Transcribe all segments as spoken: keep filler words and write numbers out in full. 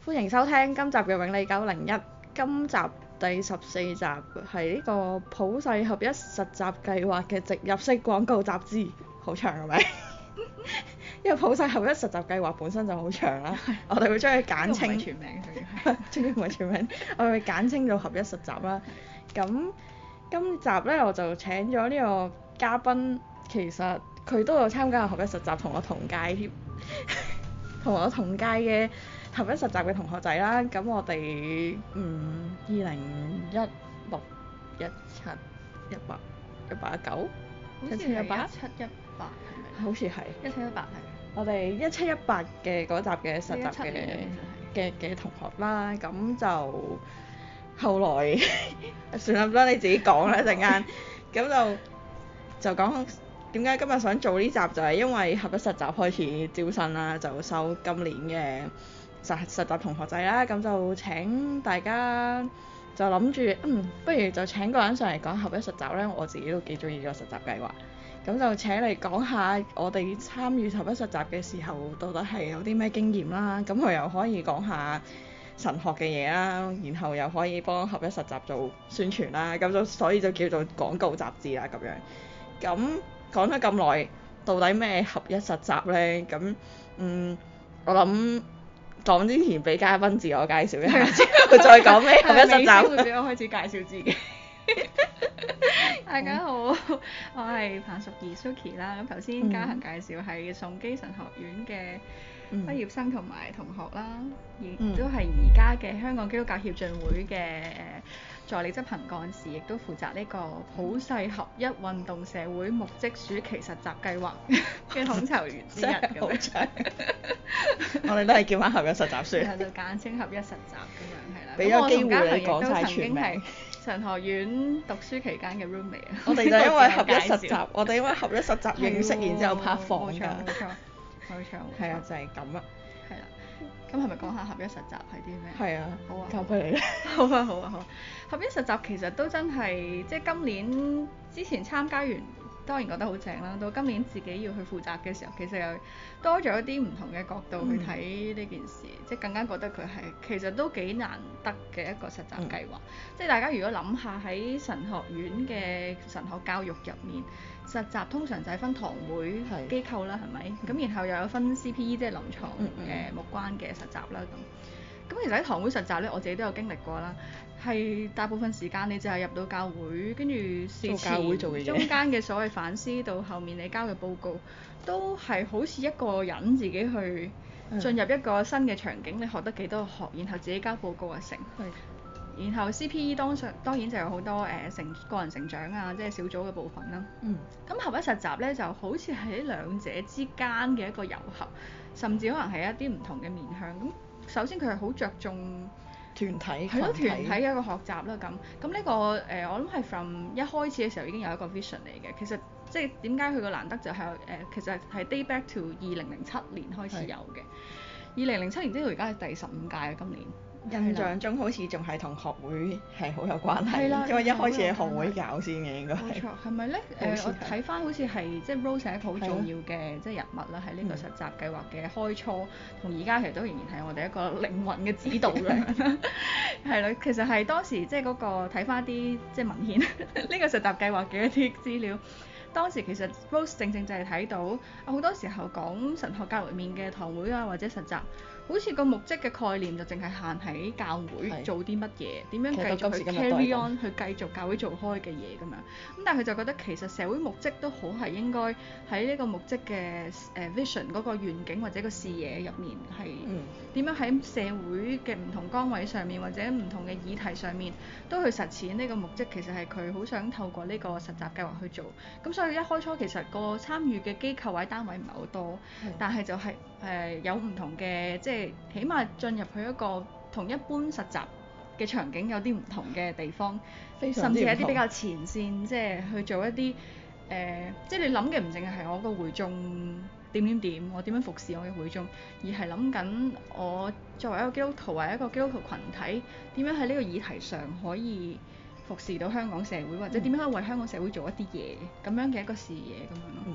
歡迎收聽今集嘅永利九零一，今集第十四集係呢個普世合一實習計劃嘅植入式廣告雜誌，好長係咪？因為普世合一實習計劃本身就好長啦，我哋會將佢簡稱。 全名佢。 終於唔係全名，我哋會簡稱做合一實習啦。咁今集咧我就請咗呢個嘉賓，其實佢都有參加合一實習，同我同屆添，同我同屆嘅合一實習嘅同學仔啦。咁我哋嗯二零一六、一七、一八、一八、一九， 一七一八，一七一八係咪？ 好似係。 一七一八係。 我哋一七一八嘅嗰集嘅實習嘅嘅嘅同學啦，咁就後來算啦，唔得你自己講啦一陣間，咁就就講點解今日想做呢集，就係因為合一實習開始招生啦，就收今年嘅實實習同學仔啦，咁就請大家就諗住嗯，不如就請個人上嚟講合一實習咧，我自己都幾中意個實習計劃。咁就請你講下我哋參與合一實習嘅時候，到底係有啲咩經驗啦？咁佢又可以講下神學嘅嘢啦，然後又可以幫合一實習做宣傳啦，咁就所以就叫做廣告雜誌啦咁樣。咁講咗咁耐，到底咩合一實習呢？咁嗯，我諗講之前俾嘉賓自我介紹一下，之後再講咩合一實習。 會俾我開始介紹自己。大家好，我係彭淑儀 Suki 啦。咁頭先嘉恒介紹係崇基神學院嘅畢業生同埋同學啦，亦、嗯、都係而家嘅香港基督教協進會嘅助理執行幹事，亦都負責呢個普世合一運動社會牧職暑期實習計劃嘅統籌員之一咁樣。長我哋都係叫翻合一實習算。 係就簡稱合一實習咁樣係啦。 俾咗機會你講晒全名。 神學院讀書期間嘅 roommate 啊， 我哋就因為合一實習，我哋因為合一實習認識，然之後拍房㗎。冇錯冇錯冇錯。 係啊，就係咁啊。 係啦，咁係咪講下合一實習係啲咩？ 係啊， 好啊， 交俾你啦。 好啊好啊好。合一實習其實都真係即係今年之前參加完，當然覺得好正啦。到今年自己要去負責嘅時候，其實又多咗一啲唔同嘅角度去睇呢件事，嗯、即係更加覺得佢係其實都幾難得嘅一個實習計劃。嗯、即係大家如果諗下喺神學院嘅神學教育入面，實習通常就係分堂會機構啦，係咪？咁、嗯、然後又有分 C P E 即係臨床誒牧關嘅實習啦咁。咁其實喺堂會實習咧，我自己都有經歷過啦。係大部分時間你就係入到教會，跟住事前中間嘅所謂反思到後面你交嘅報告，都係好似一個人自己去進入一個新嘅場景，你學得幾多學，然後自己交報告啊成。 嗯、 然後 C P E 當上當然就有好多誒、呃、成個人成長啊，即係小組嘅部分啦。嗯。咁合一實習咧就好似喺兩者之間嘅一個糅合，甚至可能係一啲唔同嘅面向。咁首先佢係好着重團體， 係咯團體嘅一個學習啦咁。咁呢、這個誒、呃、我諗係 from 一開始嘅時候已經有一個 vision 嚟嘅。其實即係點解佢個難得就係、是、誒、呃、其實係 date back to 二零零七年開始有嘅。二零零七年即係而家係第十五屆啊今年。 印象中好似仲係同學會係好有關係，因為一開始係學會搞先嘅應該係。冇錯， 係咪咧？誒，我睇翻好似係即係 Rose 係一個好重要嘅即係人物啦，喺呢個實習計劃嘅開初，同而家其實都仍然係我哋一個靈魂嘅指導咁。係啦，其實係當時即係嗰個睇翻啲即係文獻，呢個實習計劃嘅一啲資料。當時其實 Rose 正正就係睇到啊，好多時候講神學教育面嘅堂會啊或者實習，好似個牧職嘅概念就淨係限喺教會做啲乜嘢，點樣繼續去 carry on 去繼續教會做開嘅嘢咁樣。咁但係佢就覺得其實社會牧職都好係應該喺呢個牧職嘅誒 vision 嗰個願景或者個視野入面係點樣喺社會嘅唔同崗位上面或者唔同嘅議題上面都去實踐呢個牧職。其實係佢好想透過呢個實習計劃去做。咁所以一開初其實個參與嘅機構或者單位唔係好多，嗯、但係就係、是、誒、呃、有唔同嘅即係起碼進入去一個同一般實習嘅場景有啲唔同嘅地方，甚至係一啲比較前線，即係去做一啲誒、呃，即係你諗嘅唔淨係係我個會眾點點點，我點樣服侍我嘅會眾，而係諗緊我作為一個基督徒或者一個基督徒群體，點樣喺呢個議題上可以服侍到香港社會，或者點樣可以為香港社會做一啲嘢咁樣嘅一個視野咁樣咯。咁、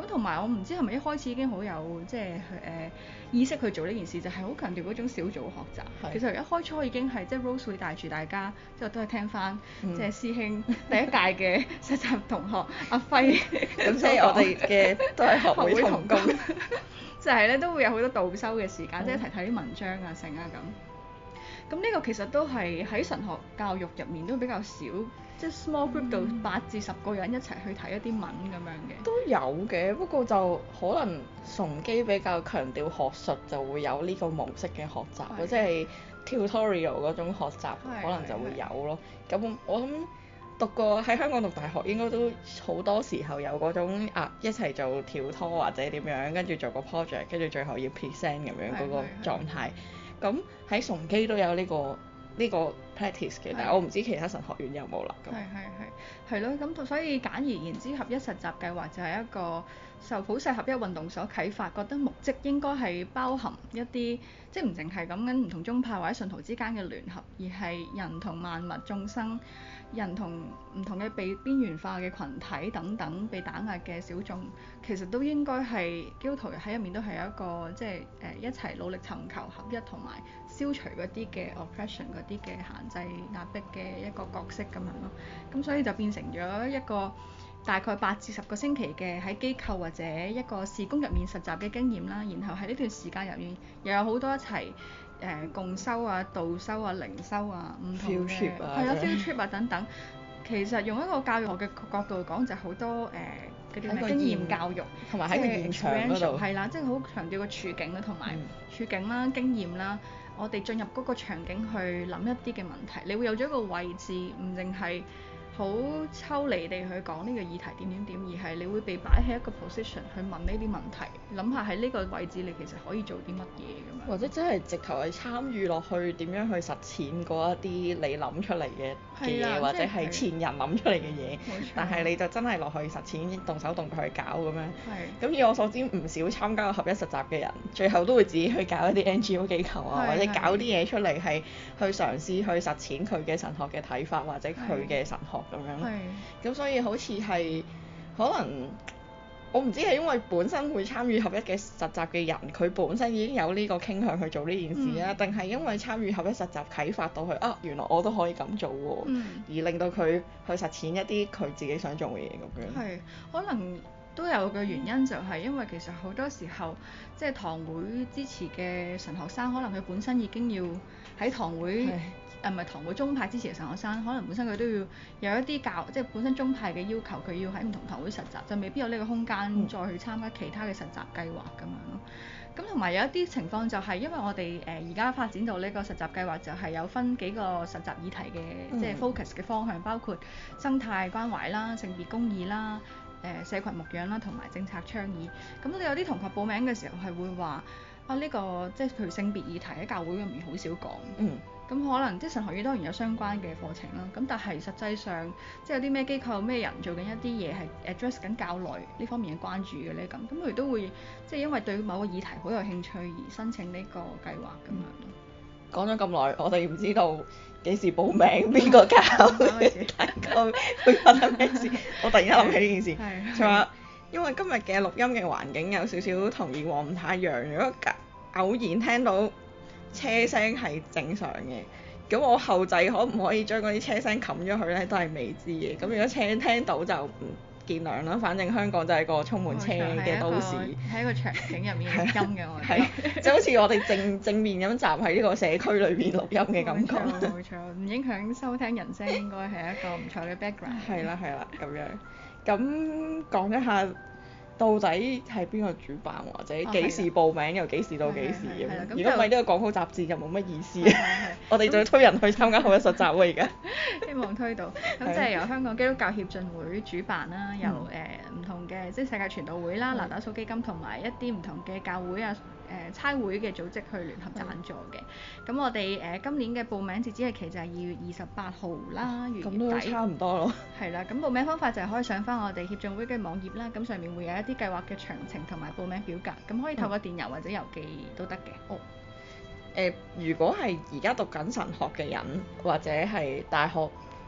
咁同埋我唔知係咪一開始已經好有即係誒、呃、意識去做呢件事，就係、是、好強調嗰種小組學習。是其實一開初已經係即係 Rose 會帶住大家，即係都係聽翻、嗯、即係師兄第一屆嘅實習同學阿輝。咁即係我哋嘅都係學會同工。就係咧都會有好多導修嘅時間，嗯、即係一齊睇啲文章啊、成啊咁。咁呢個其實都係喺神學教育入面都比較少，即係 small group 度八至十個人一齊去睇一啲文咁樣嘅。都有嘅，不過就可能崇基比較強調學術，就會有呢個模式嘅學習，的即係 tutorial 嗰種學習，可能就會有咯。咁我諗讀過喺香港讀大學應該都好多時候有嗰種啊一齊做跳拖或者點樣，跟住做個 project，跟住最後要 present 咁樣嗰個狀態。咁喺崇基都有呢、呢個呢、呢個 practice 嘅，的但係我唔知其他神學院有冇啦。 係係係，係咯，咁所以簡而言之，合一實習計劃就係一個受普世合一運動所啟發，覺得牧職應該係包含一啲即係唔淨係講緊唔同宗派或者信徒之間嘅聯合，而係人同萬物眾生。人同唔同嘅被邊緣化嘅群體等等，被打壓嘅小眾，其實都應該係基督徒喺入面都係有一個即係誒、呃、一齊努力尋求合一同埋消除嗰啲嘅 oppression 嗰啲嘅限制壓迫嘅一個角色咁樣咯。咁所以就變成咗一個大概八至十個星期嘅喺機構或者一個事工入面實習嘅經驗啦。然後喺呢段時間入面又有好多一齊。誒、呃、共修啊、導修啊、靈修啊，唔同嘅係啦 field trip 啊等等。其實用一個教育學嘅角度講，就好多誒嗰啲咩經驗教育， 同埋喺個現場嗰度係啦，即係好強調個處境啦，同埋處境啦、經驗啦。我哋進入嗰個場景去諗一啲嘅問題，你會有咗一個位置，唔淨係好抽離地去講呢個議題點點點，而係你會被擺喺一個 position 去問呢啲問題，諗下喺呢個位置你其實可以做啲乜嘢咁樣。 或者真係直頭係參與落去點樣去實踐嗰一啲你諗出嚟嘅嘅嘢，或者係前人諗出嚟嘅嘢，但係你就真係落去實踐，動手動腳去搞咁樣。咁以我所知，唔少參加合一實習嘅人，最後都會自己去搞一啲 N G O 機構啊，或者搞啲嘢出嚟係去嘗試去實踐佢嘅神學嘅睇法，或者佢嘅神學。咁樣，咁是所以好似係可能我唔知係因為本身會參與合一嘅實習嘅人，佢本身已經有呢個傾向去做呢件事啊，定係、嗯、因為參與合一實習啟發到佢啊，原來我都可以咁做喎，嗯、而令到佢去實踐一啲佢自己想做嘅嘢咁樣。係， 可能都有個原因就係因為其實好多時候即係堂會支持嘅神學生，可能佢本身已經要喺堂會。誒唔係堂會宗派支持嘅神學生，可能本身佢都要有一啲教，即係本身宗派嘅要求，佢要喺唔同堂會實習，就未必有呢個空間再去參加其他嘅實習計劃咁樣咯。咁同埋有一啲情況就係因為我哋誒而家發展到呢個實習計劃，就係有分幾個實習議題嘅，嗯、即係 focus 嘅方向，包括生態關懷啦、性別公義啦、誒、呃、社群牧養啦，同埋政策倡議。咁我哋有啲同學報名嘅時候係會話啊，呢、呢個即係譬如性別議題喺教會入面好少講。嗯。咁可能即係神學院當然有相關嘅課程啦，咁但係實際上即係有啲咩機構、咩人做緊一啲嘢係 address 緊教內呢方面嘅關注嘅咧，咁咁佢哋都會即係因為對某個議題好有興趣而申請呢個計劃咁樣咯。 講咗咁耐，我哋唔知道幾時報名，邊個教，大概會發生咩事？我突然間諗起呢件事，就話因為今日嘅錄音嘅環境有少少同以往唔太一樣，如果偶然聽到車聲係正常嘅，咁我後製可唔可以將嗰啲車聲冚咗佢咧？都係未知嘅。咁如果車聽到就唔見諒啦。反正香港就係個充滿車嘅都市， 喺個場景入面錄音嘅我哋， 係就好似我哋正正面咁站喺呢個社區裏邊錄音嘅感覺。 冇錯，冇錯，唔影響收聽人聲，應該係一個唔錯嘅 background。 係啦，係啦，咁樣。咁講一下。到底係邊個主辦，或者幾時報名，由幾時到幾時咁樣？如果唔係呢個廣告雜誌就冇乜意思。我哋仲要推人去參加合一實習喎而家。 希望推到。咁即係由香港基督教協進會主辦啦，由誒唔同嘅即係世界傳道會啦、拿打素基金同埋一啲唔同嘅教會啊、誒差會嘅組織去聯合贊助嘅。咁我哋誒今年嘅報名截止日期就係二月二十八號啦，月底。咁都差唔多咯。 係啦，咁報名方法就係可以上翻我哋協進會嘅網頁啦，咁上面會有一啲計劃嘅詳情同埋報名表格，咁可以透過電郵或者郵寄都得嘅。 哦。誒、呃，如果係而家讀緊神學嘅人，或者係大學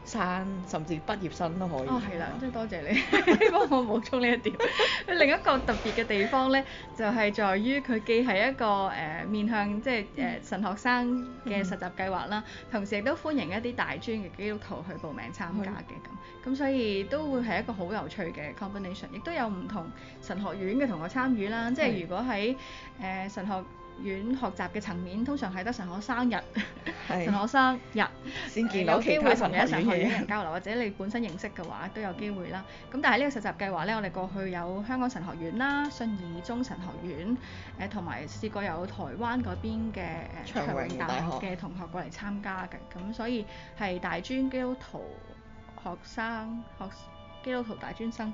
生甚至畢業生都可以。 哦，係啦，真係多謝你幫我補充呢一點。另一個特別嘅地方咧，就係、是、在於佢既係一個誒、呃、面向即係誒、呃、神學生嘅實習計劃啦，嗯、同時亦都歡迎一啲大專嘅基督徒去報名參加嘅咁，咁、嗯、所以都會係一個好有趣嘅 combination，亦都有唔同神學院嘅同學參與啦。即係如果喺誒、呃、神學院學習嘅層面，通常係得神學生日、神學生日先見到其他神學院嘅神學院人交流，或者你本身認識嘅話都有機會啦。咁但係呢個實習計劃咧，我哋過去有香港神學院啦、信義宗神學院，誒同埋試過有台灣嗰邊嘅誒長榮大學嘅同學過嚟參加嘅，咁所以係大專基督徒學生學。基督徒大專生，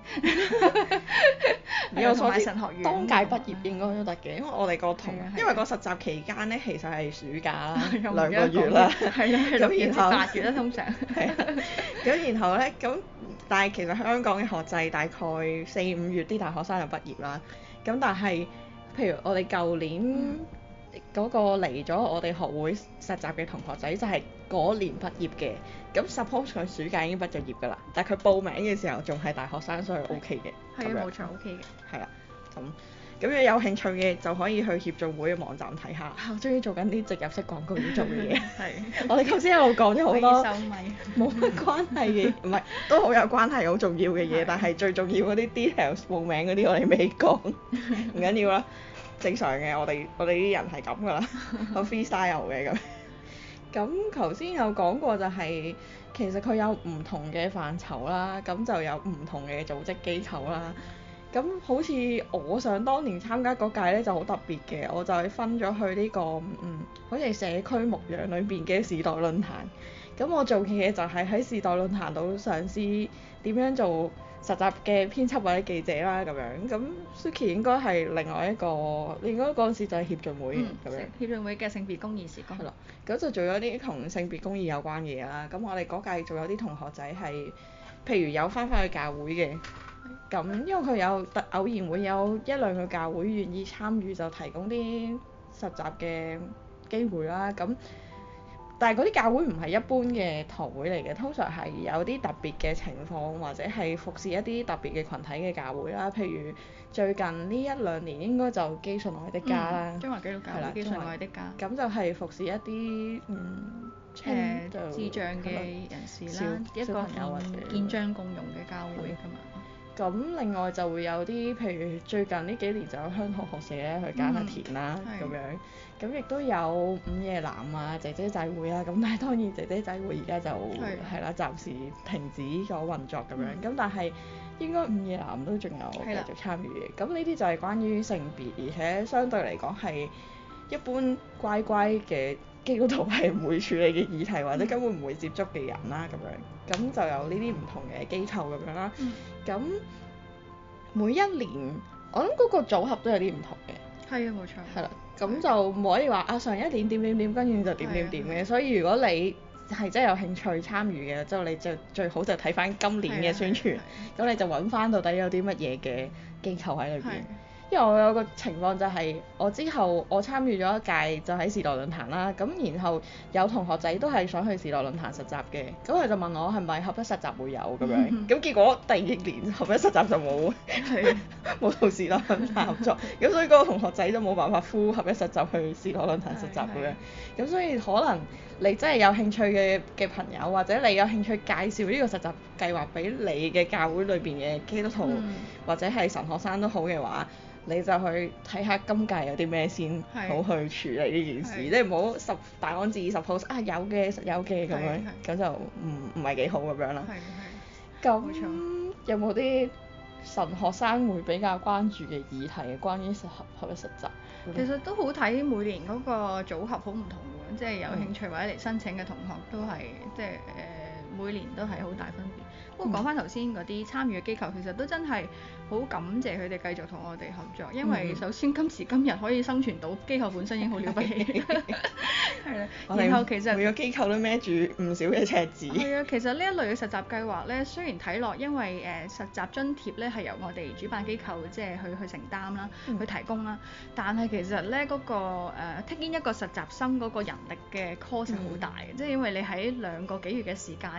有同埋神學院當屆畢業應該都得嘅，因為我哋個同，因為個實習期間咧其實係暑假啦，兩個月啦， 係啊，六月至八月啦通常。 係啊，咁然後咧咁，但係其實香港嘅學制大概四五月啲大學生就畢業啦，咁但係譬如我哋舊年嗰個嚟咗我哋學會實習嘅同學仔就係嗰年畢業嘅，咁 suppose 佢暑假已經畢咗業㗎啦，但係佢報名嘅時候仲係大學生，所以 OK 嘅。 係啊，冇錯 OK 嘅。 係啦，咁咁如果有興趣嘅就可以去協進會嘅網站睇下。我終於做緊啲植入式廣告要做嘅嘢。係。我哋頭先一路講咗好多冇乜關係嘅，唔係都好有關係、好重要嘅嘢，但係最重要嗰啲 details 報名嗰啲我哋未講，唔緊要啦。正常嘅，我哋我哋啲人係咁噶啦，好 freestyle 嘅咁。咁頭先有講過就係、是、其實佢有唔同嘅範疇啦，咁就有唔同嘅組織機構啦。咁好似我想當年參加嗰屆咧就好特別嘅，我就係分咗去呢、這個嗯，好似係社區牧養裏邊嘅時代論壇。咁我做嘅嘢就係喺時代論壇度嘗試點樣做實習嘅編輯或者記者啦咁樣，咁 Suki 應該係另外一個，應該嗰陣時就係協進會咁、嗯、樣。協進會嘅性別公義時光。係啦，咁就做咗啲同性別公義有關嘅嘢啦。咁我哋嗰屆仲有啲同學仔係，譬如有返返去教會嘅，咁因為佢有特偶然會有一兩個教會願意參與，就提供啲實習嘅機會啦。咁但係嗰啲教會唔係一般嘅堂會嚟嘅，通常係有啲特別嘅情況，或者係服侍一啲特別嘅群體嘅教會啦。譬如最近呢一兩年應該就基順愛的家啦，中華基督教會基順愛的家。咁就係服侍一啲嗯誒、呃、智障嘅人士啦，一個健將共融嘅教會㗎嘛。咁另外就會有啲譬如最近呢幾年就有香港學社咧去耕下田啦咁、嗯、樣，咁亦都有午夜藍啊、姐姐仔會啊，咁但係當然姐姐仔會而家就係啦，暫時停止咗運作咁樣，咁、嗯、但係應該午夜藍都仲有繼續參與嘅。咁呢啲就係關於性別，而且相對嚟講係一般乖乖嘅基督徒係唔會處理嘅議題，或者根本唔會接觸嘅人啦咁樣，咁就有呢啲唔同嘅機構咁樣啦。咁、嗯、每一年我諗嗰個組合都有啲唔同嘅。係啊，冇錯。係啦，咁就唔可以話啊上一年點點點，跟住就點點點嘅。所以如果你係真係有興趣參與嘅，之後你就最好就睇翻今年嘅宣傳，咁你就揾翻到底有啲乜嘢嘅機構喺裏邊。因為我有個情況就係、是，我之後我參與咗一屆就喺時代論壇啦，咁然後有同學仔都係想去時代論壇實習嘅，咁佢就問我係咪合一實習會有咁樣，咁、嗯、結果第二年合一實習就冇，冇同時代論壇合作，咁所以嗰個同學仔都冇辦法呼合一實習去時代論壇實習咁樣，咁所以可能你真係有興趣嘅嘅朋友，或者你有興趣介紹呢個實習計劃俾你嘅教會裏邊嘅基督徒、嗯、或者係神學生都好嘅話，你就去睇下今屆有啲咩先好去處理呢件事，即係唔好十大安旨意 suppose 啊有嘅實有嘅咁樣，咁就唔唔係幾好咁樣啦。咁有冇啲神學生會比較關注嘅議題嘅關於實合合一實習？其實都好睇每年嗰個組合好唔同嘅，即係有興趣或者嚟申請嘅同學都係即係誒、呃、每年都係好大分別。不過講翻頭先嗰啲參與嘅機構，其實都真係好感謝佢哋繼續同我哋合作，因為首先今時今日可以生存到，機構本身已經好了不起。係啦，然後其實每個機構都孭住唔少嘅赤字。係啊，其實呢一類嘅實習計劃咧，雖然睇落因為誒、呃、實習津貼咧係由我哋主辦機構即係去去承擔啦，嗯、去提供啦，但係其實咧嗰、嗰個誒 take in 一個實習生嗰個人力嘅 cost 好大嘅，即係、嗯、因為你喺兩個幾月嘅時間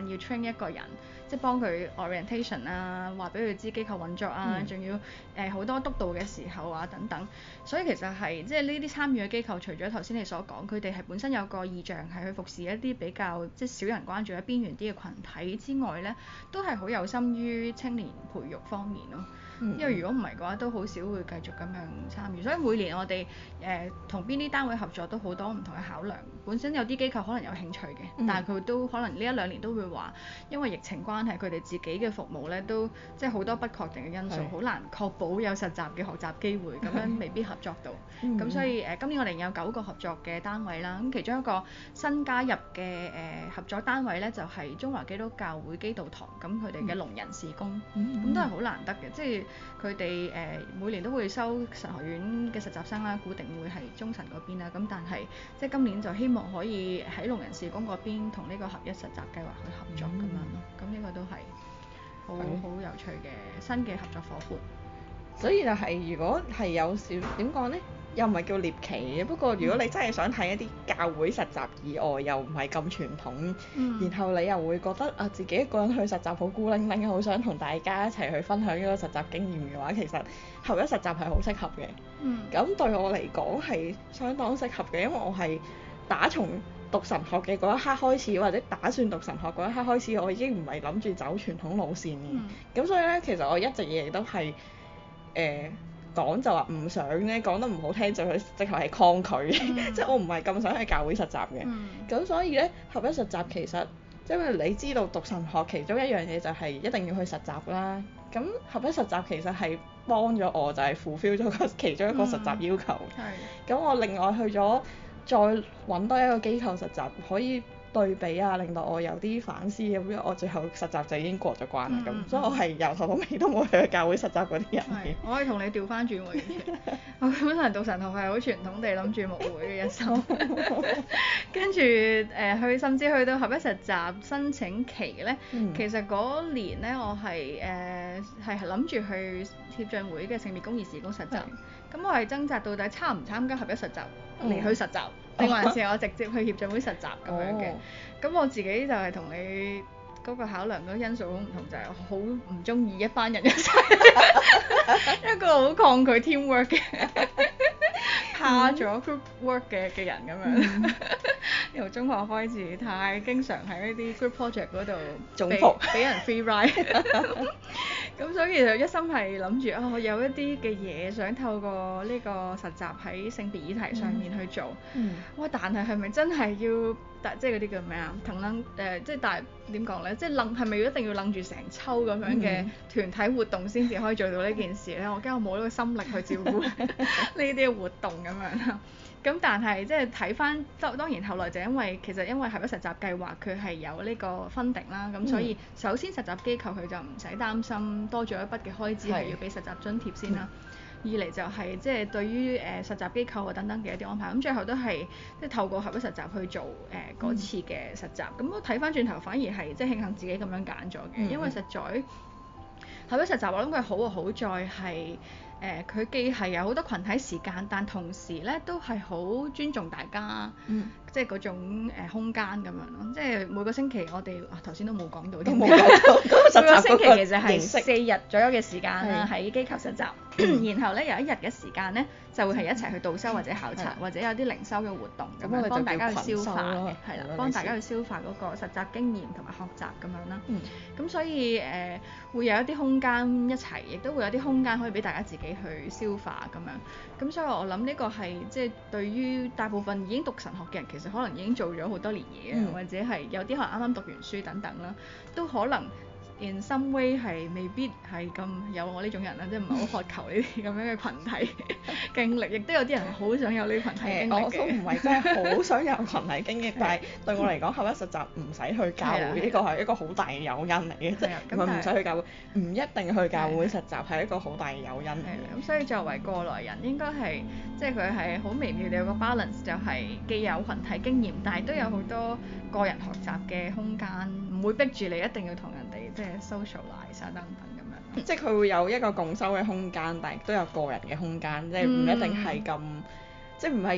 間要 train 一個人，即係幫佢 orientation 啊，話俾佢知機構運作啊，仲、嗯、要誒好、呃、多督導嘅時候啊等等。所以其實係即係呢啲參與嘅機構，除咗頭先你所講，佢哋係本身有個意向係去服侍一啲比較即係少人關注嘅邊緣啲嘅群體之外咧，都係好有心於青年培育方面咯。因為如果唔係嘅話，都好少會繼續咁樣參與。所以每年我哋誒同邊啲單位合作都好多唔同嘅考量。本身有啲機構可能有興趣嘅，嗯、但係佢都可能呢一兩年都會話，因為疫情關係，佢哋自己嘅服務咧都即係好多不確定嘅因素，好是難確保有實習嘅學習機會，咁樣未必合作到。咁、嗯、所以誒、呃、今年我哋有九個合作嘅單位啦。咁其中一個新加入嘅誒、呃、合作單位咧，就係、是、中華基督教會基道堂。咁佢哋嘅聾人事工，咁、嗯嗯、都係好難得嘅，即係。佢哋誒每年都會收神學院嘅實習生啦，固定會係中神嗰邊啦。咁但係即係今年就希望可以喺聾人事工嗰邊同呢個合一實習計劃去合作咁、嗯、樣咯。咁呢個都係好好有趣嘅新嘅合作伙伴。 所以就係、是、如果係有少點講呢？又唔係叫獵奇嘅，不過如果你真係想睇一啲教會實習以外，又唔係咁傳統，嗯、然後你又會覺得啊自己一個人去實習好孤零零，好想同大家一齊去分享呢個實習經驗嘅話，其實合一實習係好適合嘅。咁、嗯、對我嚟講係相當適合嘅，因為我係打從讀神學嘅嗰一刻開始，或者打算讀神學嗰一刻開始，我已經唔係諗住走傳統路線嘅。咁、嗯、所以呢，其實我一直以嚟都係誒。呃講就話唔想咧，講得唔好聽就佢直頭係抗拒，嗯、即係我唔係咁想去教會實習嘅。咁、嗯、所以咧，合一實習其實，因為你知道讀神學其中一樣嘢就係一定要去實習啦。咁合一實習其實係幫咗我，就係 fulfill 咗個其中一個實習要求。咁、嗯、我另外去咗再揾多一個機構實習，可以對比啊，令到我有啲反思咁樣，我最後實習就已經過咗關啦咁，嗯、所以我係由頭到尾都冇去教會實習嗰啲人嘅。 我可以同你調翻轉喎，我本身讀神學係好傳統地諗住牧會嘅一生，跟住誒去甚至去到合一實習申請期咧，嗯、其實嗰年咧我係誒係諗住去協進會嘅聖別公義事工實習，咁是我係掙扎到底參唔參加合一實習嚟、嗯、去實習。定還是我直接去協進會實習咁樣嘅，咁、oh. 我自己就係同你嗰個考量嗰因素好唔同，就係好唔中意一班人一齊，一個好抗拒 teamwork 嘅，怕咗 group work 嘅嘅人咁樣。由中學開始，太經常喺呢啲 group project 嗰度中伏， 俾人 free ride。咁所以就一心係諗住啊，我有一啲嘅嘢想透過呢個實習喺性別議題上面去做。嗯。哇！但係係咪真係要，即係嗰啲叫咩啊？騰楞誒，即係但係點講咧？即係楞係咪一定要楞住成抽咁樣嘅團體活動先至可以做到呢件事咧？我驚我冇呢個心力去照顧呢啲嘅活動咁樣。咁但係即係睇翻，當當然後來就因為其實因為合一實習計劃佢係有呢個分定啦，咁、嗯、所以首先實習機構佢就唔使擔心多咗一筆嘅開支係要俾實習津貼先啦。嗯、二嚟就係即係對於誒、呃、實習機構啊等等嘅一啲安排，咁最後都係即係透過合一實習去做誒嗰、呃、次嘅實習。咁、嗯、我睇翻轉頭反而係即係慶幸自己咁樣揀咗嘅，嗯、因為實在合一實習我諗佢好啊好在係。誒佢、呃、既係有好多群體時間，但同時咧都係好尊重大家，嗯、即係嗰種、呃、空間咁樣咯。即係每個星期我哋啊頭先都冇講到，都冇講到。每個星期其實係四日左右嘅時間啦，喺機構實習。然後咧有一日嘅時間咧就會係一齊去導修或者考察，嗯、或者有啲靈修嘅活動咁樣幫大家去消化嘅，係啦，幫大家去消化嗰個實習經驗同埋學習咁樣啦。咁、嗯、所以誒、呃、會有一啲空間一齊，亦都會有啲空間可以俾大家自己去消化咁樣。咁所以我諗呢個係即係對於大部分已經讀神學嘅人，其實可能已經做咗好多年嘢，嗯、或者係有啲可能啱啱讀完書等等啦，都可能。in some way 係未必係咁有我呢種人啦，即係唔係好渴求呢啲咁樣嘅群體經歷，亦都有啲人係好想有呢啲群體經歷嘅。我都唔係真係好想有群體經歷，但係對我嚟講，合一實習唔使去教會，呢個係一個好大嘅誘因嚟嘅，即係唔係唔使去教會，唔一定去教會實習係一個好大嘅誘因嚟嘅。咁所以作為過來人，應該係即係佢係好微妙地有個 balance，就係既有群體經驗，但係都有好多個人學習嘅空間，唔會逼住你一定要同人哋即係 socialize 等等咁樣。 即係佢會有一個共修嘅空間，但係都有個人嘅空間，即係唔一定係咁，嗯、即係唔係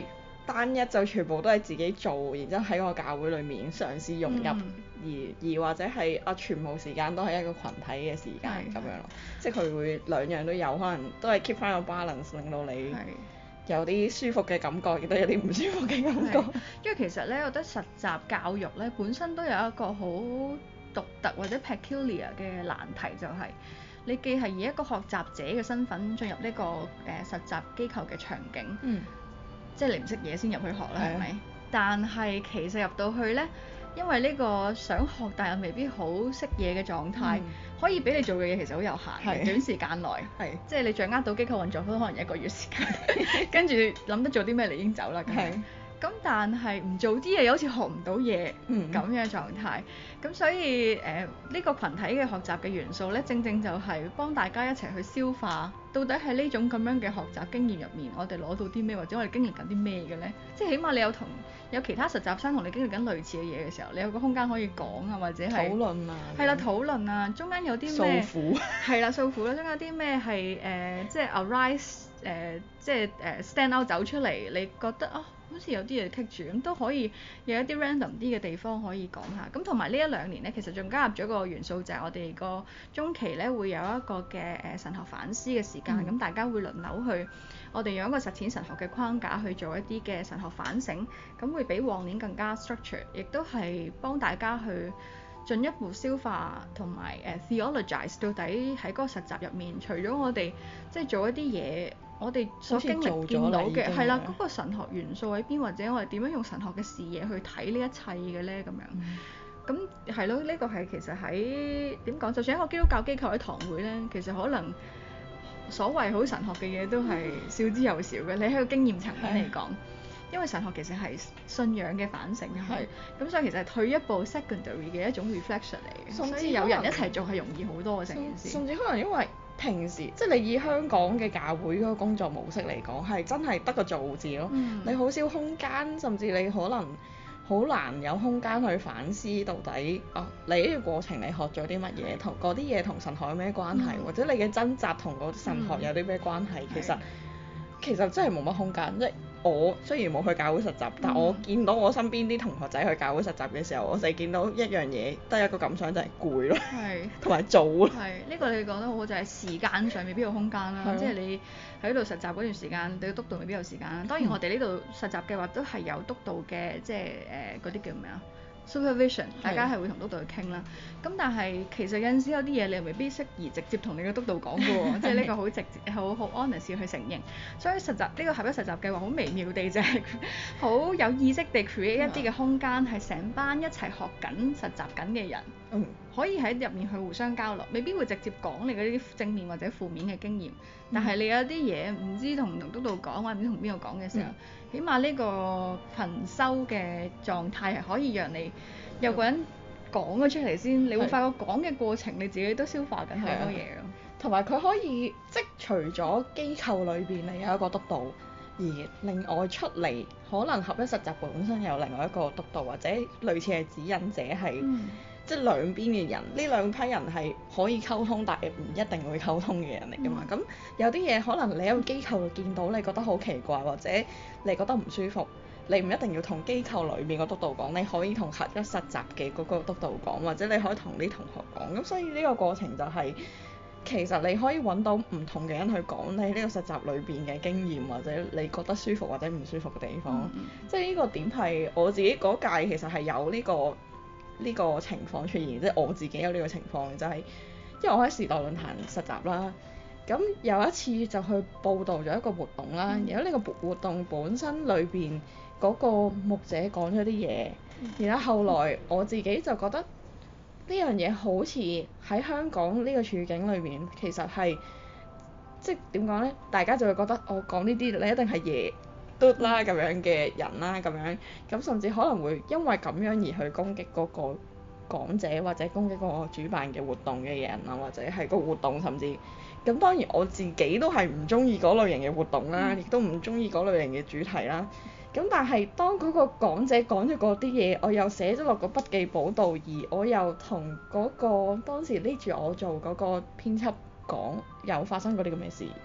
單一就全部都係自己做，然之後喺個教會裡面嘗試融入， 嗯而而或者係啊全部時間都係一個群體嘅時間咁樣咯，即係佢會兩樣都有，可能都係 keep 翻個 balance，令到你有啲舒服嘅感覺，亦都有啲唔舒服嘅感覺。 因為其實咧，我覺得實習教育咧本身都有一個好獨特或者 peculiar 嘅難題，就係、是、你既係以一個學習者嘅身份進入呢、這個誒、呃、實習機構嘅場景， 嗯、 即係你唔識嘢先入去學啦，係咪、嗯？但係其實入到去咧，因為呢個想學但又未必好識嘢嘅狀態，嗯、可以俾你做嘅嘢其實好有限嘅，是短時間內，是即係你掌握到機構運作都可能一個月時間，跟住諗得做啲咩你已經走啦。咁但係唔做啲嘢又好似學唔到嘢咁嘅狀態，咁、嗯、所以誒呢、呃呢個群體嘅學習嘅元素咧，正正就係幫大家一齊去消化，到底喺呢種咁樣嘅學習經驗入面，我哋攞到啲咩，或者我哋經歷緊啲咩嘅咧？即係起碼你有同有其他實習生同你經歷緊類似嘅嘢嘅時候，你有個空間可以講啊，或者係討論啊，係啦討論啊，中間有啲咩訴苦係啦訴苦啦，中間有啲咩係誒即係 arise 誒、呃、即係誒、呃、stand out 走出嚟，你覺得啊？好似有啲嘢棘住，咁都可以有一啲 random 啲嘅地方可以講下。咁同埋呢一兩年咧，其實仲加入咗個元素，就係我哋個中期咧會有一個嘅誒、呃、神學反思嘅時間，咁、嗯、大家會輪流去，我哋用一個實踐神學嘅框架去做一啲嘅神學反省，咁會比往年更加 structure， 亦都係幫大家去進一步消化同埋誒 theologize 到底喺嗰個實習入面，除咗我哋即係做一啲嘢。我哋所經歷見到嘅係啦，嗰、那個神學元素喺邊，或者我哋點樣用神學嘅視野去睇呢一切嘅咧？咁樣咁係咯，呢、這個係其實喺點講？就算一個基督教機構喺堂會咧，其實可能所謂好神學嘅嘢都係少之又少嘅。你喺個經驗層面嚟講，的因為神學其實係信仰嘅反省，係咁的，所以其實係退一步 secondary 嘅一種 reflection 嚟嘅。所以有人一齊做係容易好多嘅成件事。甚至可能因為平時即係你以香港嘅教會嗰個工作模式嚟講，係真係得個做字咯。嗯、你好少空間，甚至你可能好難有空間去反思到底啊，你呢個過程你學咗啲乜嘢，同嗰啲嘢同神學有咩關係，嗯、或者你嘅掙扎同嗰神學有啲咩關係？嗯、其實的其實真係冇乜空間，即係我雖然冇去教會實習，嗯、但我見到我身邊啲同學仔去教會實習嘅時候，我淨係見到一樣嘢，得一個感想就係攰咯，同埋的做咯。係呢、呢個你講得好好，就係、是、時間上未必有空間啦，的即係你喺度實習嗰段時間，你督導未必有時間啦。當然我哋呢度實習計劃都係有督導嘅，即係誒嗰啲叫咩啊？supervision， 大家係會同督導去傾啦。咁但係其實有陣時有啲嘢你又未必適宜直接同你嘅督導講嘅喎，即係呢個好直接、好好 honest 去承認。所以實習呢、呢個合一實習計劃好微妙地就係好有意識地 create 一啲嘅空間，係成班一齊學緊實習緊嘅人，嗯、可以喺入面去互相交流，未必會直接講你嗰啲正面或者負面嘅經驗。但係你有啲嘢唔知同唔同督導講，或者唔知同邊個講嘅時候，嗯、起碼呢個頻收嘅狀態係可以讓你有個人講咗出嚟先，你會發覺講嘅過程你自己都消化緊好多嘢咯。 同埋佢可以即除咗機構裏邊你有一個督導，而另外出嚟可能合一實習本身有另外一個督導，或者類似係指引者係。嗯即係兩邊嘅人，呢兩批人係可以溝通，但係唔一定會溝通嘅人嚟㗎嘛。咁、嗯、有啲嘢可能你喺個機構度見到，你覺得好奇怪，或者你覺得唔舒服，你唔一定要同機構裏面個督導講，你可以同合一實習嘅嗰個督導講，或者你可以同啲同學講。咁所以呢個過程就係、是、其實你可以揾到唔同嘅人去講你呢個實習裏邊嘅經驗，或者你覺得舒服或者唔舒服嘅地方。嗯、即係呢個點係我自己嗰屆其實係有呢、這個。呢個情況出現，即係我自己有呢個情況，就係因為我喺時代論壇實習啦，咁有一次就去報導咗一個活動啦，然後呢個活動本身裏邊嗰個牧者講咗啲嘢，然後後來我自己就覺得呢樣嘢好似喺香港呢個處境裏邊，其實係即係點講呢？大家就會覺得我講呢啲你一定係嘢嘟啦咁樣嘅人啦，咁樣咁甚至可能會因為咁樣而去攻擊嗰個講者，或者攻擊嗰個主辦嘅活動嘅人啊，或者係個活動，甚至咁當然我自己都係唔中意嗰類型嘅活動啦，亦都唔中意嗰類型嘅主題啦。咁但係當嗰個講者講咗嗰啲嘢，我又寫咗落個筆記簿度，而我又同嗰個當時拎住我做嗰個編輯講，有發生過啲咁嘅事。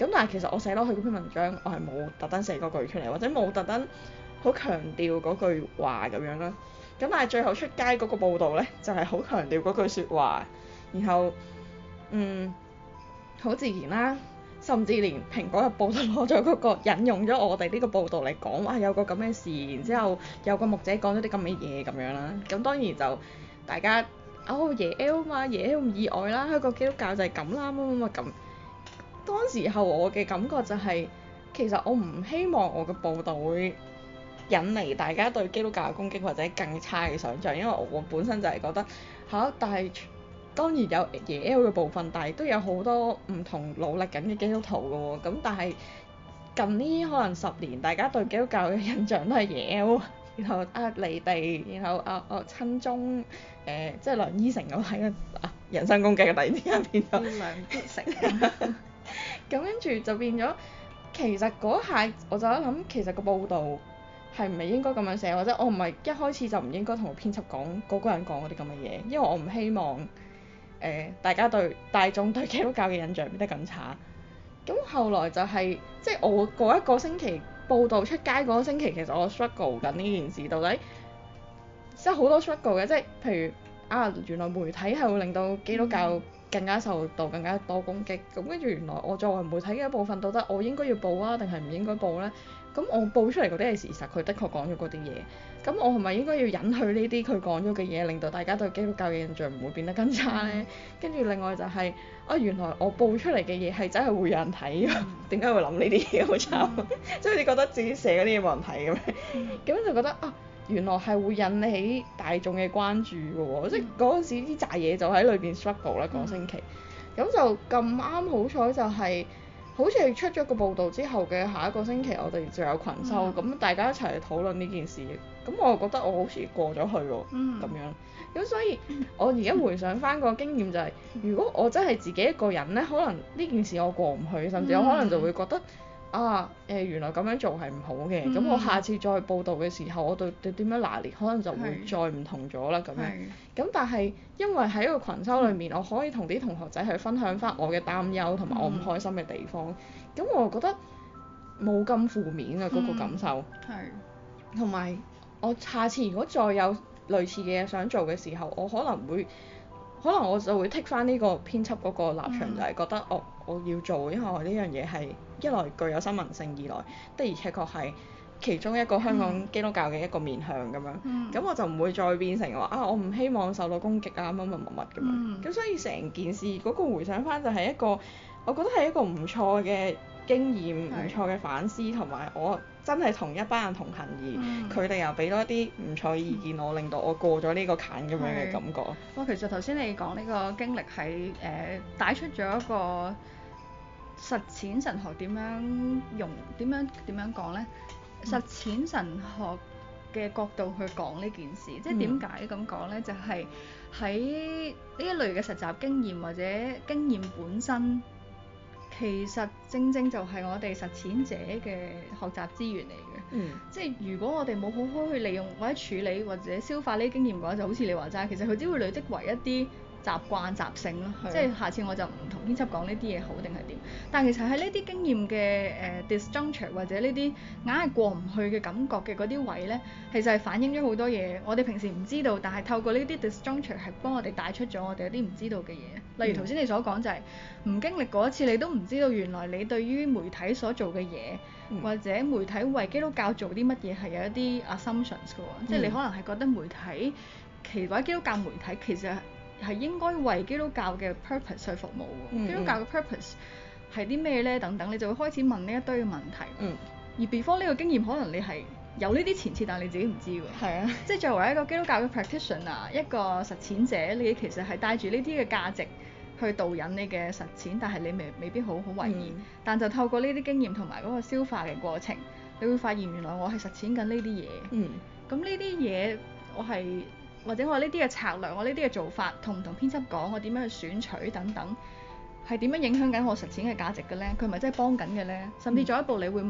咁但係其實我寫落去嗰篇文章，我係冇特登寫嗰句出嚟，或者冇特登好強調嗰句話咁樣啦。咁但係最後出街嗰個報導咧，就係好強調嗰句説話，然後嗯好自然啦，甚至連蘋果日報都攞咗嗰個引用咗我哋呢個報導嚟講話有個咁嘅事，然之後有個牧者講咗啲咁嘅嘢咁樣啦。咁當然就大家哦耶 L 嘛，耶 L 唔意外啦，一個基督教就係咁啦，乜乜乜咁。當時候我嘅感覺就係、是，其實我唔希望我嘅報導會引嚟大家對基督教嘅攻擊或者更差嘅想像，因為我本身就係覺得嚇，但係當然有耶 L 嘅部分，但係都有好多唔同努力緊嘅基督徒嘅喎。咁但係近呢可能十年，大家對基督教嘅印象都係耶 L，然後啊離地，然後啊啊親中，誒、呃、即係梁依成咁睇啊人身攻擊嘅，突然之間變咗梁必成。 咁跟住就變咗，其實嗰下我就喺諗，其實個報導係唔係應該咁樣寫，或者我唔係一開始就唔應該同個編輯講嗰個人講嗰啲咁嘅嘢，因為我唔希望誒、呃、大家對大眾對基督教嘅印象變得更差。咁後來就係、是、即係我嗰一個星期報導出街嗰個星期，其實我 struggle 緊呢件事，到底即係好多 struggle 嘅，即係譬如啊原來媒體係會令到基督教更加受到更加多攻擊，咁跟住原來我作為媒體嘅一部分，到底我應該要報啊，定係唔應該報呢？咁我報出嚟嗰啲係事實，佢的確講咗嗰啲嘢，咁我係咪應該要隱去呢啲佢講咗嘅嘢，令到大家對基督教嘅印象唔會變得更差呢？跟住另外就係、是、啊原來我報出嚟嘅嘢係真係會有人睇㗎，點解會諗呢啲嘢好慘？即係好似覺得自己寫嗰啲嘢冇人睇咁樣，咁就覺得啊原來係會引起大眾嘅關注㗎喎，即係嗰陣時啲渣嘢就喺裏邊 struggle 啦，嗰個星期，咁就咁啱好彩就係、是。好似係出咗個報導之後嘅下一個星期，我哋就有群修，咁、嗯、大家一齊嚟討論呢件事，咁我覺得我好似過咗去喎，咁、嗯、樣，咁所以我而家回想返個經驗就係、是，如果我真係自己一個人呢，可能呢件事我過唔去，甚至我可能就會覺得。啊誒、呃、原來咁樣做係唔好嘅，咁、嗯、我下次再報導嘅時候，我對對點樣拿捏，可能就會再唔同咗啦咁樣。咁但係因為喺個群修裏面，嗯、我可以同啲同學仔去分享翻我嘅擔憂同埋我唔開心嘅地方，咁、嗯、我覺得冇咁負面啊嗰、嗰個感受。係。同埋我下次如果再有類似嘅嘢想做嘅時候，我可能會。可能我就會剔翻呢個編輯嗰個立場，嗯、就係覺得我我要做，因為我呢樣嘢係一來具有新聞性，二來的而且確係其中一個香港基督教嘅一個面向咁樣。咁、嗯、我就唔會再變成話啊，我唔希望受到攻擊啊，乜乜乜乜咁樣。咁、嗯、所以成件事嗰個回想翻就係一個，我覺得係一個唔錯嘅經驗，唔錯嘅反思，同埋我真係同一班人同行，而佢哋又俾多一啲唔錯嘅意見我，令到我過咗呢個坎咁樣嘅感覺。 哇，其實頭先你講呢個經歷係誒帶出咗一個實踐神學點樣用點樣點樣講呢？嗯、實踐神學嘅角度去講呢件事，即係點解咁講呢？就係喺呢一類嘅實習經驗或者經驗本身。其實正正就係我哋實踐者嘅學習資源嚟嘅，嗯、即係如果我哋冇好好去利用或者處理或者消化呢啲經驗嘅話，就好似你話齋，其實佢只會累積為一啲習慣習性咯，的即係下次我就唔同編輯講呢啲嘢好定係點。但係其實喺呢啲經驗嘅誒、呃、disjuncture 或者呢啲硬係過唔去嘅感覺嘅嗰啲位咧，其實係反映咗好多嘢，我哋平時唔知道，但係透過呢啲 disjuncture 係幫我哋帶出咗我哋有啲唔知道嘅嘢。例如頭先你所講就係、是、唔經歷過一次，你都唔知道原來你對於媒體所做嘅嘢，嗯、或者媒體為基督教做啲乜嘢係有一啲 assumptions 嘅喎，嗯、即係你可能係覺得媒體其或者基督教媒體其實係應該為基督教嘅 purpose 去服務喎，嗯、基督教嘅 purpose 係啲咩咧？等等，你就會開始問呢一堆嘅問題。嗯、而 before 呢個經驗，可能你係有呢啲前設，但係你自己唔知喎。係啊，即係作為一個基督教嘅 practitioner，一個實踐者，你其實係帶住呢啲嘅價值去導引你嘅實踐，但係你未未必好好為意。嗯、但就透過呢啲經驗同埋嗰個消化嘅過程，你會發現原來我係實踐緊呢啲嘢。嗯，咁呢啲嘢我係。或者我呢啲嘅策略，我呢啲嘅做法，同唔同編輯講，我點樣去選取等等，係點樣影響緊我實踐嘅價值嘅咧？佢係咪真係幫緊嘅咧？甚至進一步，你會問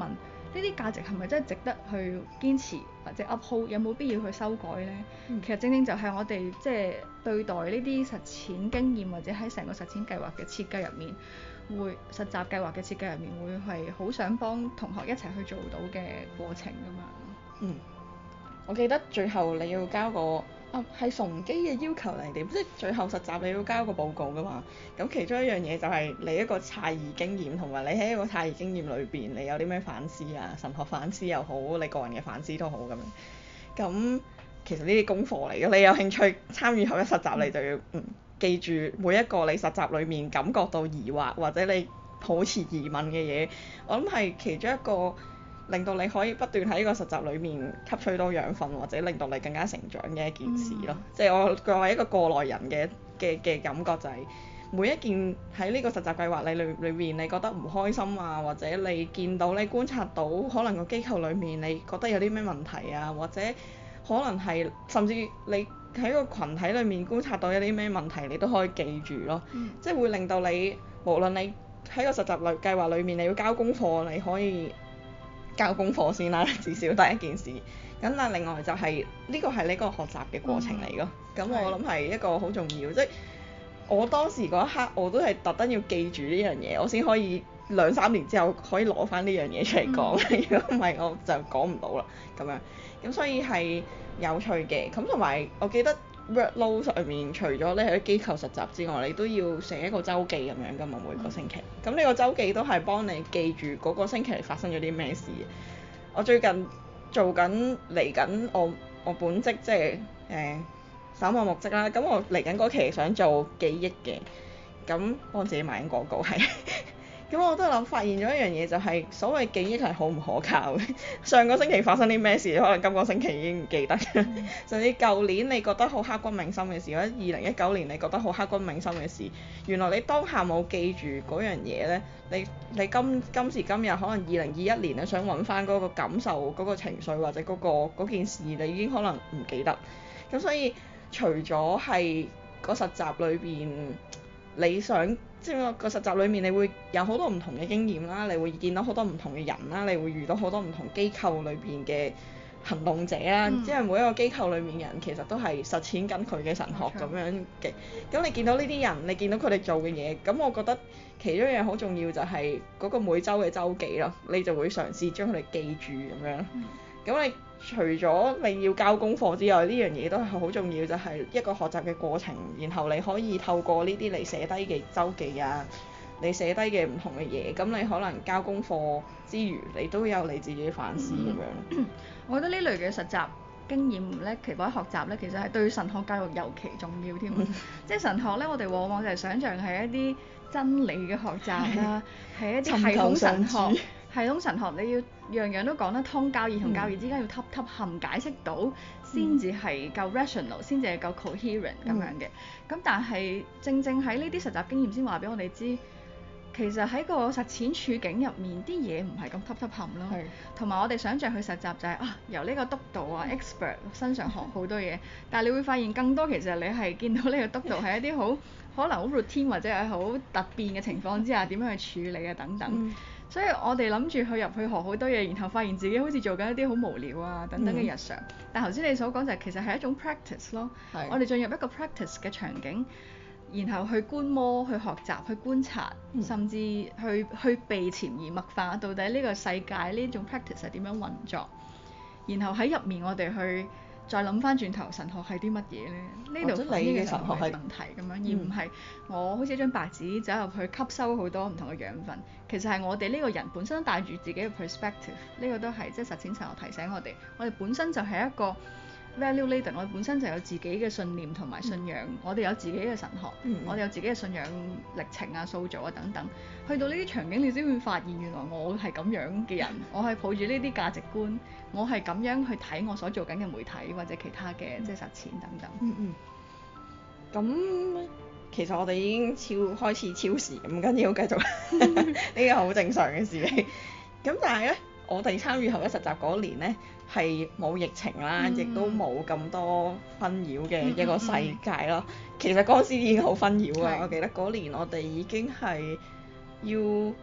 啲價值係咪真係值得去堅持或者 uphold？有冇必要去修改呢？ 嗯、 其實正正就係我哋即係對待呢啲實踐經驗或者喺成個實踐計劃嘅設計入面，會實習計劃嘅設計入面會係好想幫同學一齊去做到嘅過程㗎嘛。 嗯，我記得最後你要交個啊係崇基嘅要求嚟點，即係最後實習你要交個報告㗎嘛。咁其中一樣嘢就係你一個詫異經驗，同埋你喺一個詫異經驗裏邊，你有啲咩反思啊？神學反思又好，你個人嘅反思都好咁樣。咁其實呢啲功課嚟嘅，你有興趣參與後一實習，你就要嗯記住每一個你實習裏面感覺到疑惑或者你抱持疑問嘅嘢，我諗係其中一個令到你可以不斷喺呢個實習裏面吸取到養分，或者令到你更加成長嘅一件事咯。即係、嗯、我作為一個過來人嘅嘅嘅感覺就係、是、每一件喺呢個實習計劃你裏裏面你覺得唔開心啊，或者你見到你觀察到可能個機構裏面你覺得有啲咩問題啊，或者可能係甚至你喺個群體裏面觀察到有啲咩問題，你都可以記住咯。嗯、即係會令到你無論你喺個實習類計劃裏面你要交功課，你可以交功課先啦，至少第一件事。咁但另外就係呢個係呢個學習嘅過程嚟咯。咁、嗯、我諗係一個好重要，即係我當時嗰一刻我都係特登要記住呢樣嘢，我先可以兩三年之後可以攞翻呢樣嘢出嚟講。如果唔係我就講唔到啦咁樣。咁所以係有趣嘅。咁同埋我記得 workload 上面除咗你喺機構實習之外，你都要寫一個週記咁樣㗎嘛，每個星期。咁呢個週記都係幫你記住嗰個星期發生咗啲咩事。我最近做緊嚟緊我我本職即係誒守望牧職啦。咁我嚟緊嗰期想做記憶嘅，咁幫自己賣緊廣告係。咁我都諗發現咗一樣嘢，就係所謂記憶係好唔可靠嘅。上個星期發生啲咩事，可能今個星期已經唔記得。嗯、甚至舊年你覺得好刻骨銘心嘅事，或者二零一九年你覺得好刻骨銘心嘅事，原來你當下冇記住嗰樣嘢呢。你你今今時今日可能二零二一年你想揾翻嗰個感受、嗰、嗰個情緒或者嗰、嗰個嗰件事，你已經可能唔記得。咁所以除咗係個實習裏邊，你想即係個實習裏面，你會有好多唔同嘅經驗啦，你會見到好多唔同嘅人啦，你會遇到好多唔同機構裏邊嘅行動者啦，嗯、即係每一個機構裏面嘅人其實都係實踐緊佢嘅神學咁樣嘅。咁、嗯、你見到呢啲人，你見到佢哋做嘅嘢，咁我覺得其中一樣好重要就係嗰個每週嘅週記咯，你就會嘗試將佢哋記住咁樣。咁、嗯、你除咗你要交功課之外，呢樣嘢都係好重要，就係、是、一個學習嘅過程，然後你可以透過呢啲你寫低嘅週記啊，你寫低嘅唔同嘅嘢，咁你可能交功課之餘，你都有你自己反思咁樣。 嗯、我覺得呢類嘅實習經驗咧，其實學習咧，其實係對神學教育尤其重要添。即係神學咧，我哋往往就係想像係一啲真理嘅學習啦，係一啲系統神學。系統神學你要樣樣都講得通，教義同教義之間要揼揼冚解釋到，先至係夠 rational，先至係夠 coherent 咁樣嘅。咁、嗯、但係正正喺呢啲實習經驗先話俾我哋知，其實喺個實踐處境入面啲嘢唔係咁揼揼冚咯。同埋是我哋想像去實習就係、是、啊由呢個督導啊 expert 身上學好多嘢，但係你會發現更多其實你係見到呢個督導係一啲好可能好 routine 或者係好突變嘅情況之下點樣去處理啊等等。嗯所以我哋諗住去入去學好多嘢，然後發現自己好似做緊一啲好無聊啊等等嘅日常。嗯、但頭先你所講就係其實係一種 practice 咯。是我哋進入一個 practice 嘅場景，然後去觀摩、去學習、去觀察，嗯、甚至去去被潛移默化到底呢個世界呢種 practice 係點樣運作。然後喺入面我哋去再諗翻轉頭神學係啲乜嘢咧？呢度反映嘅神學係問題咁樣，嗯、而唔係我好似一張白紙走入去吸收好多唔同嘅養分。其實係我哋呢個人本身帶住自己嘅 perspective， 呢個都係即係實踐神學提醒我哋，我哋本身就係一個 value laden， 我哋本身就有自己嘅信念同埋信仰，嗯、我哋有自己嘅神學，嗯、我哋有自己嘅信仰歷程啊、塑造啊等等。去到呢啲場景，你先會發現原來我係咁樣嘅人，我係抱住呢啲價值觀，我係咁樣去睇我所做緊嘅媒體或者其他嘅、嗯、即係實踐等等。 嗯嗯。咁其實我哋已經超開始超時，唔緊要，繼續，呢個好正常嘅事嚟。咁但係咧，我哋參與後一實習嗰年咧係冇疫情啦，亦、嗯、都冇咁多紛擾嘅一個世界咯。嗯嗯嗯、其實嗰時已經好紛擾啊！是我記得嗰年我哋已經係要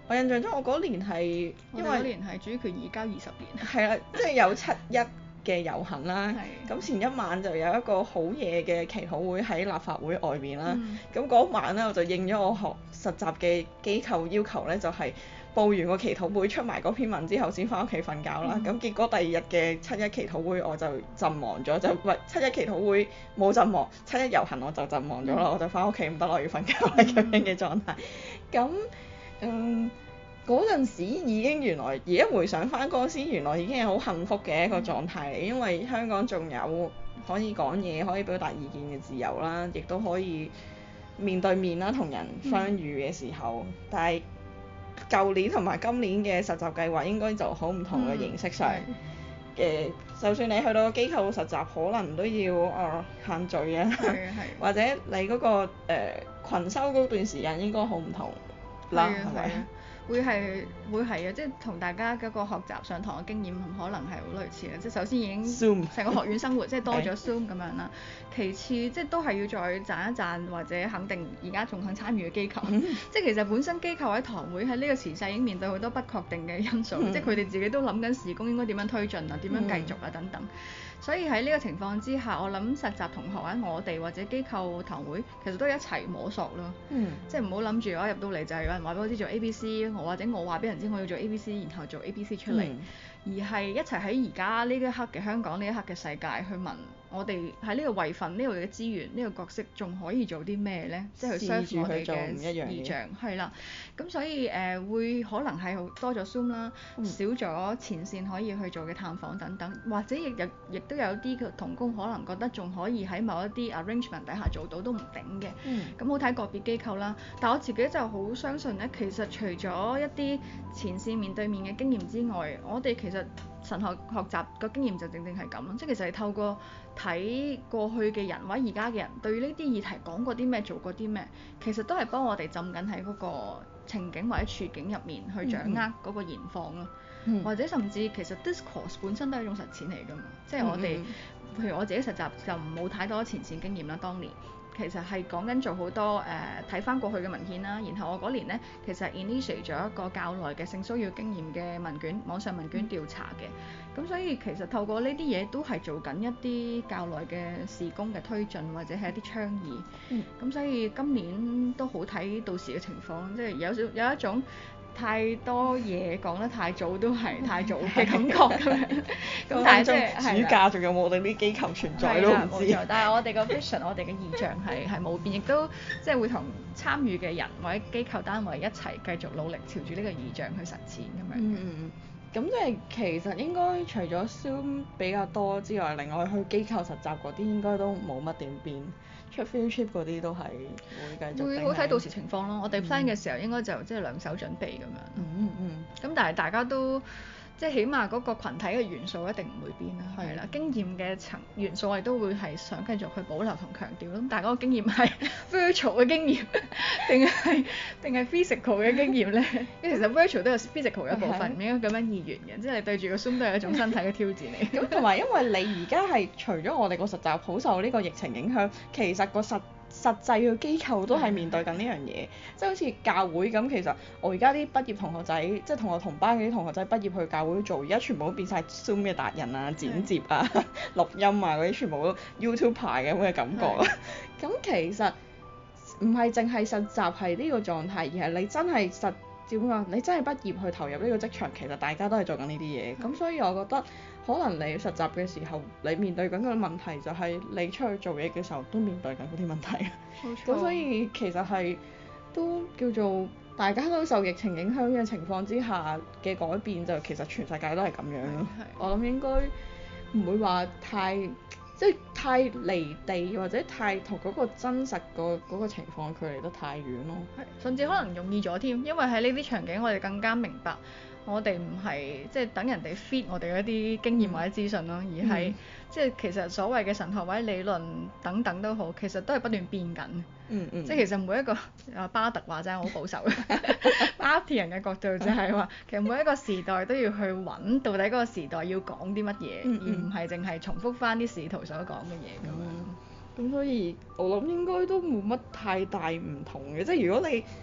我印象中我嗰年係因為我哋嗰年係主權移交二十年。 係啦，即係有七一嘅遊行啦。 係咁前一晚就有一個好夜嘅祈禱會喺立法會外面啦。 嗯咁嗰、晚咧我就應咗我學實習嘅機構要求咧，就係、報完個祈禱會出埋嗰篇文之後先翻屋企瞓覺啦。咁、 嗯結果第二日嘅七一祈禱會我就陣亡咗，就唔係七一祈禱會冇陣亡，七一遊行我就陣亡咗啦。 嗯我就翻屋企唔得啦，我要瞓覺啦咁樣嘅狀態。咁嗯。嗰陣時已經原來而家回想翻嗰陣時，原來已經係好幸福嘅一個狀態嚟，因為香港仲有可以講嘢、可以表達意見嘅自由啦，亦都可以面對面啦同人相遇嘅時候。嗯、但係舊年同埋今年嘅實習計劃應該就好唔同嘅形式上嘅，嗯、就算你去到機構實習，可能都要啊、呃、限聚啊，或者你嗰、嗰個誒、呃、群修嗰段時間應該好唔同啦，係咪？ 會係會係啊，即係同大家嗰個學習上堂嘅經驗可能係好類似嘅，即係首先已經成個學院生活即係多咗 Zoom 咁樣啦。其次即係都係要再讚一讚或者肯定而家仲肯參與嘅機構，嗯、即係其實本身機構喺堂會喺呢個時勢已經面對好多不確定嘅因素，嗯、即係佢哋自己都諗緊事工應該點樣推進啊，點樣繼續啊等等。所以喺呢個情況之下，我諗實習同學喺我哋或者機構堂會其實都係一齊摸索咯，嗯、即係唔好諗住我入到嚟就係有人話俾我知做 A B C，我或者我話俾人知我要做 A B C，然後做 A B C 出嚟，嗯、而係一齊喺而家呢一刻嘅香港呢一刻嘅世界去問我哋喺呢個位份呢度嘅資源呢、呢個角色仲可以做啲咩呢？即係去 serve 我哋嘅異象係啦。咁所以誒、呃、會可能係多咗 Zoom 啦，嗯、少咗前線可以去做嘅探訪等等，或者亦亦亦都有啲嘅同工可能覺得仲可以喺某一啲 arrangement 底下做到都唔頂嘅。咁、嗯、好睇個別機構啦。但我自己就好相信咧，其實除咗一啲前線面對面嘅經驗之外，我哋其實神學學習個經驗就正正係咁咯，即係其實係透過睇過去嘅人或者而家嘅人對呢啲議題講過啲咩做過啲咩，其實都係幫我哋浸緊喺嗰個情景或者處境入面去掌握嗰個現況咯，嗯、或者甚至其實 discourse 本身都係一種實踐嚟㗎嘛，即係我哋、嗯、譬如我自己實習就冇太多前線經驗啦，當年。其實係講緊做好多誒睇翻過去嘅文獻啦，然後我嗰年呢，其實 initiate 咗一個較耐嘅性騷擾經驗嘅問卷，網上問卷調查嘅，咁、嗯、所以其實透過呢啲嘢都係做緊一啲較耐嘅事工嘅推進或者係一啲倡議，咁、嗯、所以今年都好睇到時嘅情況，即係有少有一種太多嘢講得太早都係太早嘅感覺咁樣，咁但係即係暑假仲有冇我哋啲機構存在都唔知。 但係我哋個 vision， 我哋嘅意象係係冇變，亦都即係會同參與嘅人或者機構單位一齊繼續努力朝住呢個意象去實踐咁樣。 嗯嗯嗯。咁即係其實應該除咗 Zoom 比較多之外，另外去機構實習嗰啲應該都冇乜點變。出 field trip 嗰啲都係會繼續。會好睇到時情況咯。我哋 plan 嘅時候應該就即係兩手準備咁樣。 嗯嗯。咁、 嗯、但係大家都即係起碼嗰個羣體嘅元素一定唔會變啦。係啦的。經驗嘅層元素我哋都會係想繼續去保留同強調。咁但係嗰個經驗係 virtual 嘅經驗定係定係 physical 嘅經驗咧？因為其實 virtual 都有 physical 嘅一部分，唔應該咁樣二元嘅。即係你對住個 Zoom 都係一種身體嘅挑戰嚟。 咁同埋因為你而家係除咗我哋個實習好受呢個疫情影響，其實個實實際嘅機構都係面對緊呢樣嘢，即係好似教會咁。其實我而家啲畢業同學仔，即係同我同班嘅啲同學仔畢業去教會做，而家全部都變晒 Zoom 嘅達人啊、剪接啊、錄音啊嗰啲，全部都 YouTube 牌嘅咁嘅感覺。咁其實唔係淨係實習係呢個狀態，而係你真係實點講？你真係畢業去投入呢個職場，其實大家都係做緊呢啲嘢。咁所以我覺得可能你實習嘅時候，你面對緊嘅問題就係你出去做嘢嘅時候都面對緊嗰啲問題。冇錯。咁所以其實係都叫做大家都受疫情影響嘅情況之下嘅改變，就其實全世界都係咁樣咯。我諗應該唔會話太即係太離地，或者太同嗰個真實個嗰個情況距離得太遠咯。 係，甚至可能容易咗添，因為喺呢啲場景我哋更加明白。我哋唔係即係等人哋 feed 我哋嗰啲經驗或者資訊咯，嗯、而係、嗯、即係其實所謂嘅神學或者理論等等都好，其實都係不斷變緊。嗯嗯。即係其實每一個啊巴特話齋好保守嘅，巴特人嘅角度就係話，其實每一個時代都要去揾到底嗰個時代要講啲乜嘢，嗯嗯、而唔係淨係重複翻啲使徒所講嘅嘢咁樣。 咁、嗯、所以我諗應該都冇乜太大唔同嘅，即係如果你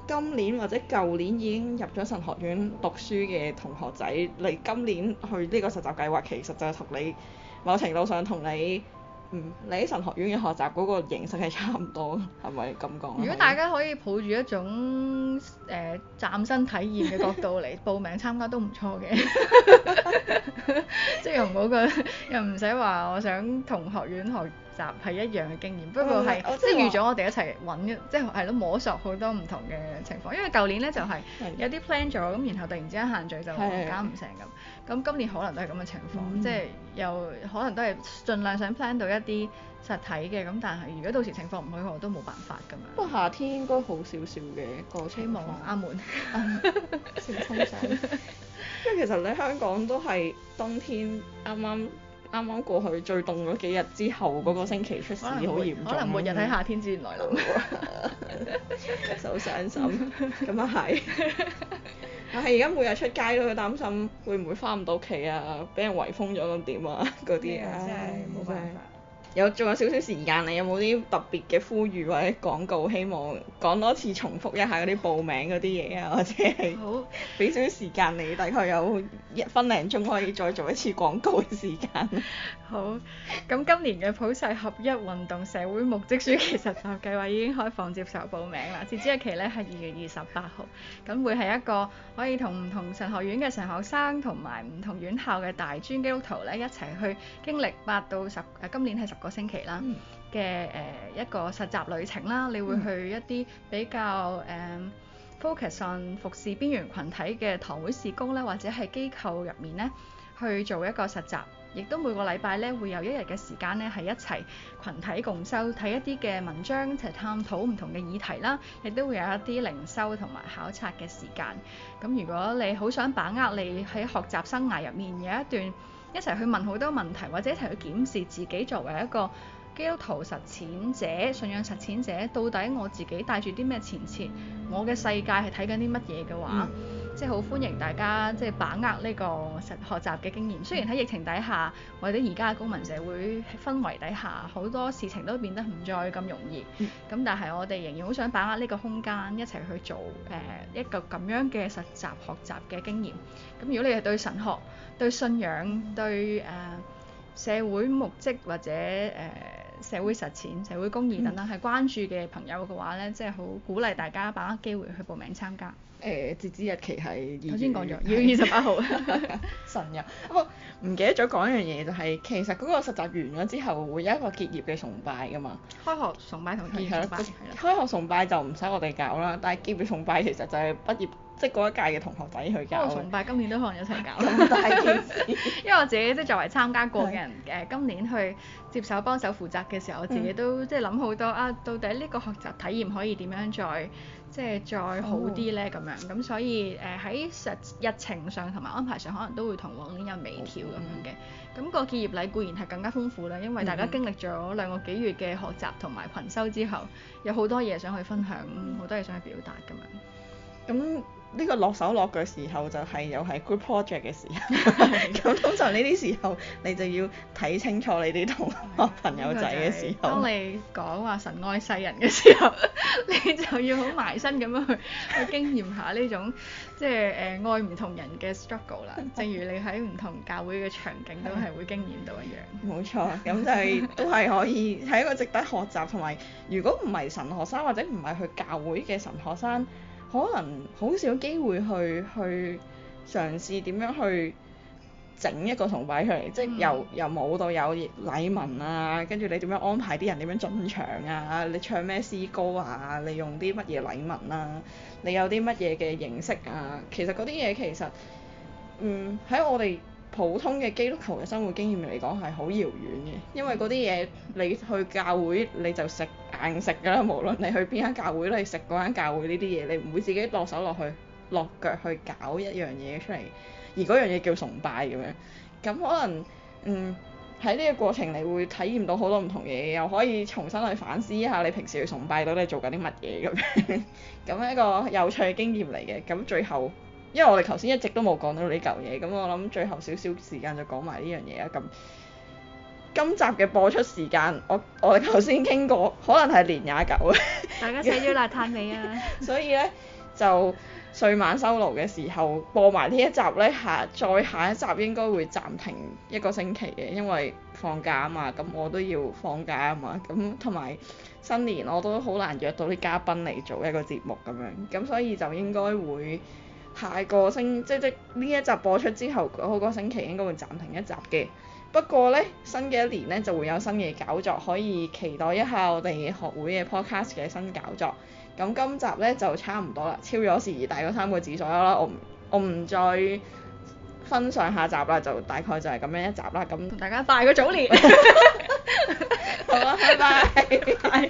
今年或者舊年已經入咗神學院讀書嘅同學仔，你今年去呢個實習計劃，其實就係同你某程度上同你嗯你喺神學院嘅學習嗰個形式係差唔多，係咪咁講？ 如果大家可以抱住一種誒、呃、嶄新體驗嘅角度嚟報名參加都唔錯嘅，即係又唔好個又唔使話我想同學院學習係一樣嘅經驗，不過係、嗯、即係預咗我哋一齊揾，即係係咯摸索好多唔同嘅情況。因為舊年咧就係、是、有啲 plan 咗，咁然後突然之間限聚就搞唔成咁。咁今年可能都係咁嘅情況，嗯、即係又可能都係盡量想 plan 到一啲實體嘅，咁但係如果到時情況唔許可，我都冇辦法咁樣。 不過夏天應該好少少嘅個希望阿門， 先通常。因為其實你香港都係冬天啱啱。啱啱過去最凍嗰幾日之後嗰個星期出事好嚴重， 可能末日喺夏天之前來臨， 好傷心。咁啊係，但係而家每日出街都會擔心會唔會返唔到屋企啊，俾人圍封咗咁點啊嗰啲啊，真係冇辦法。有仲有少少時間，你有冇啲特別嘅呼籲或者廣告？希望講多次重複一下嗰啲報名嗰啲嘢啊，或者係俾少少時間你，大概有一分零鐘可以再做一次廣告嘅時間。 好，咁今年嘅普世合一運動社會目職暑期實習計劃已經開放接受報名啦，截止日期咧係二月二十八號，咁會係一個可以同唔同神學院嘅神學生同埋唔同院校嘅大專基督徒咧一齊去經歷八到十誒今年係十個星期啦嘅誒一個實習旅程啦，你會去一啲比較誒、呃、focus on 服侍邊緣群體嘅堂會事工咧，或者係機構入面咧去做一個實習，亦都每個禮拜咧會有一日嘅時間咧係一齊群體共修，睇一啲嘅文章，一齊探討唔同嘅議題啦，亦都會有一啲靈修同埋考察嘅時間。咁如果你好想把握你喺學習生涯入面有一段一齊去問好多問題，或者一齊去檢視自己作為一個基督徒實踐者、信仰實踐者，到底我自己帶住啲咩前設，我嘅世界係睇緊啲乜嘢嘅話，嗯、即係好歡迎大家即係把握呢個實學習嘅經驗。雖然喺疫情底下，或者而家嘅公民社會氛圍底下，好多事情都變得唔再咁容易，咁、嗯、但係我哋仍然好想把握呢個空間，一齊去做誒、呃、一個咁樣嘅實習學習嘅經驗。咁如果你係對神學、對信仰、對誒、呃、社會目職或者誒、呃社會實踐、社會公義等等係關注嘅朋友嘅話咧，即係好鼓勵大家把握機會去報名參加。 誒，截止日期係頭先講咗，二月二十八號。 神日，不過唔記得咗講一樣嘢，就係其實嗰個實習完咗之後，會有一個結業嘅崇拜㗎嘛。 開學崇拜同結業崇拜。 開學崇拜就唔使我哋搞啦，但係結業崇拜其實就係畢業，即係嗰一屆嘅同學仔去搞。開學崇拜今年都可能一齊搞。 咁大件事。因為我自己即係作為參加過嘅人，誒今年去接手幫手負責嘅時候，我自己都即係諗好多啊，到底呢個學習體驗可以點樣再即係再好啲咧咁樣，咁所以誒喺實日程上同埋安排上，可能都會同往年有微調咁樣嘅。咁個結業禮固然係更加豐富啦，因為大家經歷咗兩個幾月嘅學習同埋群修之後，有好多嘢想去分享，好多嘢想去表達咁樣。 咁呢個落手落腳時候就係又係 group project 嘅時候，咁通常呢啲時候你就要睇清楚你啲同學朋友仔嘅時候。 當你講話神愛世人嘅時候，你就要好埋身咁樣去去經驗下呢種即係誒、呃、愛唔同人嘅 struggle 啦。正如你喺唔同教會嘅場景都係會經驗到一樣。 冇錯，咁就係、是、都係可以係一個值得學習，同埋如果唔係神學生或者唔係去教會嘅神學生，可能好少機會去去嘗試點樣去整一個崇拜出嚟，嗯、即係由由冇到有禮文啊，跟住你點樣安排啲人點樣進場啊，你唱咩詩歌啊，你用啲乜嘢禮文啊，你有啲乜嘢嘅形式啊，其實嗰啲嘢其實嗯喺我哋普通嘅基督徒嘅生活經驗嚟講係好遙遠嘅，因為嗰啲嘢你去教會你就食硬食㗎啦，無論你去邊間教會，你食嗰間教會呢啲嘢，你唔會自己落手落去落腳去搞一樣嘢出嚟，而嗰樣嘢叫崇拜咁樣。咁可能嗯喺呢個過程你會體驗到好多唔同嘢，又可以重新去反思一下你平時去崇拜到底做緊啲乜嘢咁樣，咁一個有趣嘅經驗嚟嘅。咁最後因為我哋頭先一直都冇講到呢嚿嘢，咁我諗最後少少時間就講埋呢樣嘢啊。咁今集嘅播出時間，我我哋頭先傾過，可能係年廿九啊。 大家寫咗邋遢未啊？ 所以咧， 就歲晚收爐嘅時候播埋呢一集呢，下再下一集應該會暫停一個星期嘅，因為放假啊嘛，咁我都要放假啊嘛，咁同埋新年我都好難約到啲嘉賓嚟做一個節目咁樣，咁所以就應該會下個星即即呢一集播出之後嗰個星期應該會暫停一集嘅。不過呢，新嘅一年呢就會有新嘅搞作，可以期待一下我哋學會嘅 podcast 嘅新搞作。咁今集呢就差唔多啦，超咗時宜大嗰三個字左右啦，我唔我唔再分上下集啦，就大概就係咁樣一集啦。咁同大家拜個早年。 好啦，拜拜。